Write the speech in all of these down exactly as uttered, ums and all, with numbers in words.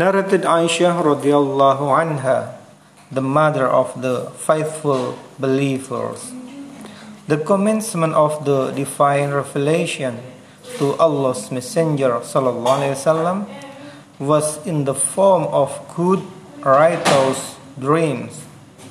Narrated Aisha radiallahu anha, the mother of the faithful believers. The commencement of the divine revelation to Allah's Messenger sallallahu alaihi wasallam was in the form of good, righteous dreams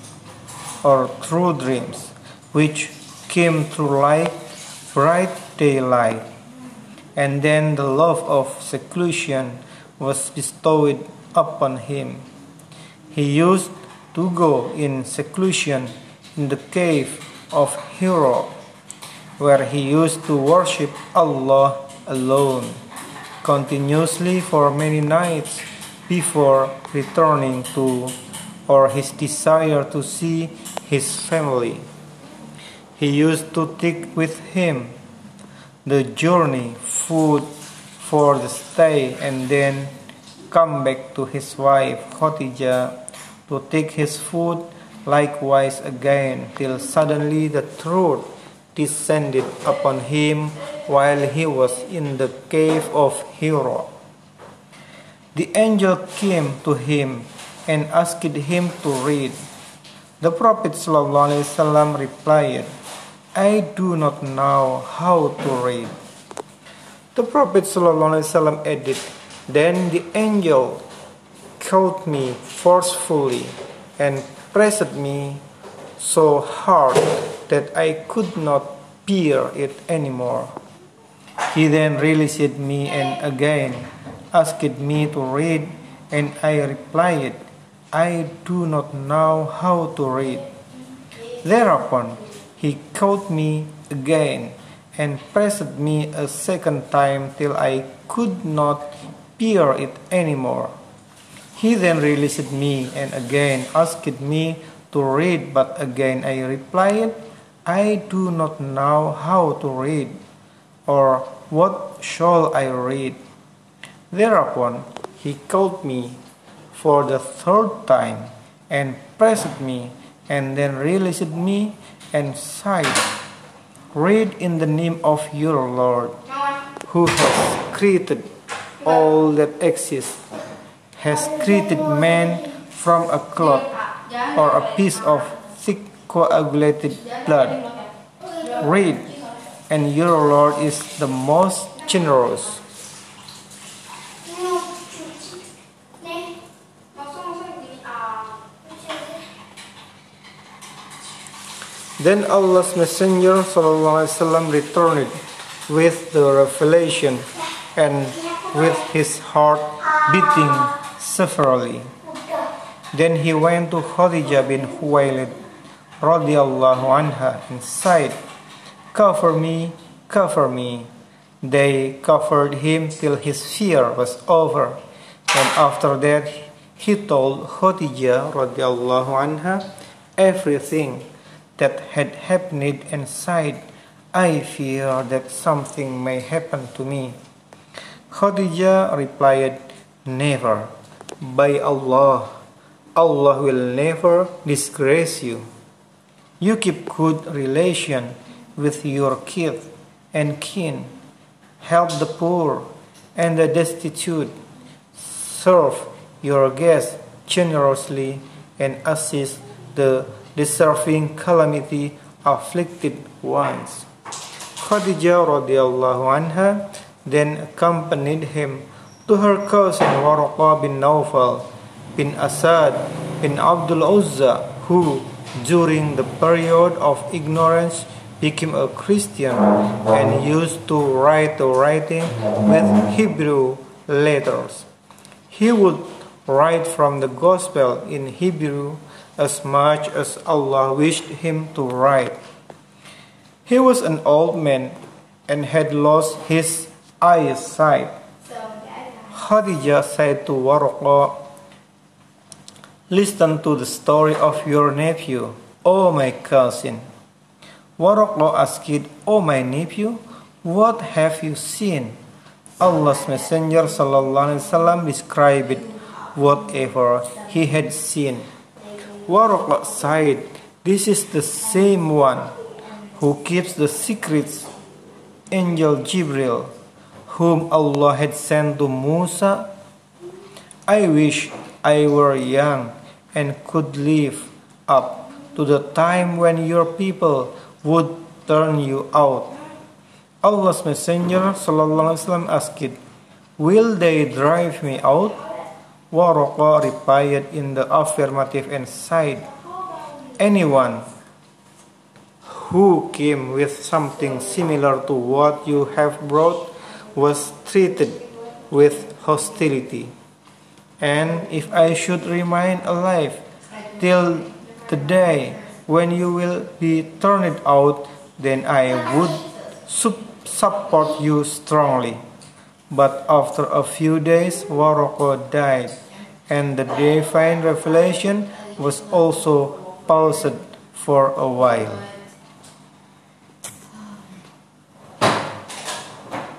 or true dreams, which came through light, bright daylight, and then the love of seclusion was bestowed upon him. He used to go in seclusion in the cave of Hira, where he used to worship Allah alone, continuously for many nights before returning to or his desire to see his family. He used to take with him the journey, food for the stay, and then come back to his wife Khadijah to take his food likewise again, till suddenly the truth descended upon him while he was in the cave of Hira. The angel came to him and asked him to read. The Prophet ﷺ replied, "I do not know how to read." The Prophet ﷺ added, "Then the angel caught me forcefully and pressed me so hard that I could not bear it anymore. He then released me and again asked me to read, and I replied, I do not know how to read. Thereupon he caught me again and pressed me a second time till I could not bear it anymore. He then released me and again asked me to read, but again I replied, I do not know how to read, or what shall I read? Thereupon he caught me for the third time and pressed me and then released me and sighed, Read in the name of your Lord, who has created all that exists, has created man from a clot or a piece of thick coagulated blood. Read, and your Lord is the most generous. Then Allah's Messenger ﷺ returned with the revelation and with his heart beating severely. Then he went to Khadijah bin Khuwailid radiyallahu anha and sighed, Cover me, cover me. They covered him till his fear was over, and after that he told Khadijah radiyallahu anha everything that had happened and sighed, I fear that something may happen to me. Khadijah replied, Never. By Allah, Allah will never disgrace you. You keep good relation with your kith and kin, help the poor and the destitute, serve your guests generously, and assist the deserving calamity afflicted ones. Khadijah radiallahu anha then accompanied him to her cousin Waraqah bin Nawfal bin Asad bin Abdul Uzza, who during the period of ignorance became a Christian and used to write the writing with Hebrew letters. He would write from the gospel in Hebrew as much as Allah wished him to write. He was an old man and had lost his eyesight. Khadijah said to Waraqah, Listen to the story of your nephew, O my cousin. Waraqah asked, O my nephew, what have you seen? Allah's Messenger sallallahu alaihi wasallam described whatever he had seen. Waraqah sighed, This is the same one who keeps the secrets, Angel Jibril, whom Allah had sent to Musa. I wish I were young and could live up to the time when your people would turn you out. Allah's Messenger sallallahu alaihi wasallam asked, "Will they drive me out?" Waraqah replied in the affirmative and said, "Anyone who came with something similar to what you have brought was treated with hostility. And if I should remain alive till the day when you will be turned out, then I would support you strongly." But after a few days, Waraqah died, and the divine revelation was also paused for a while.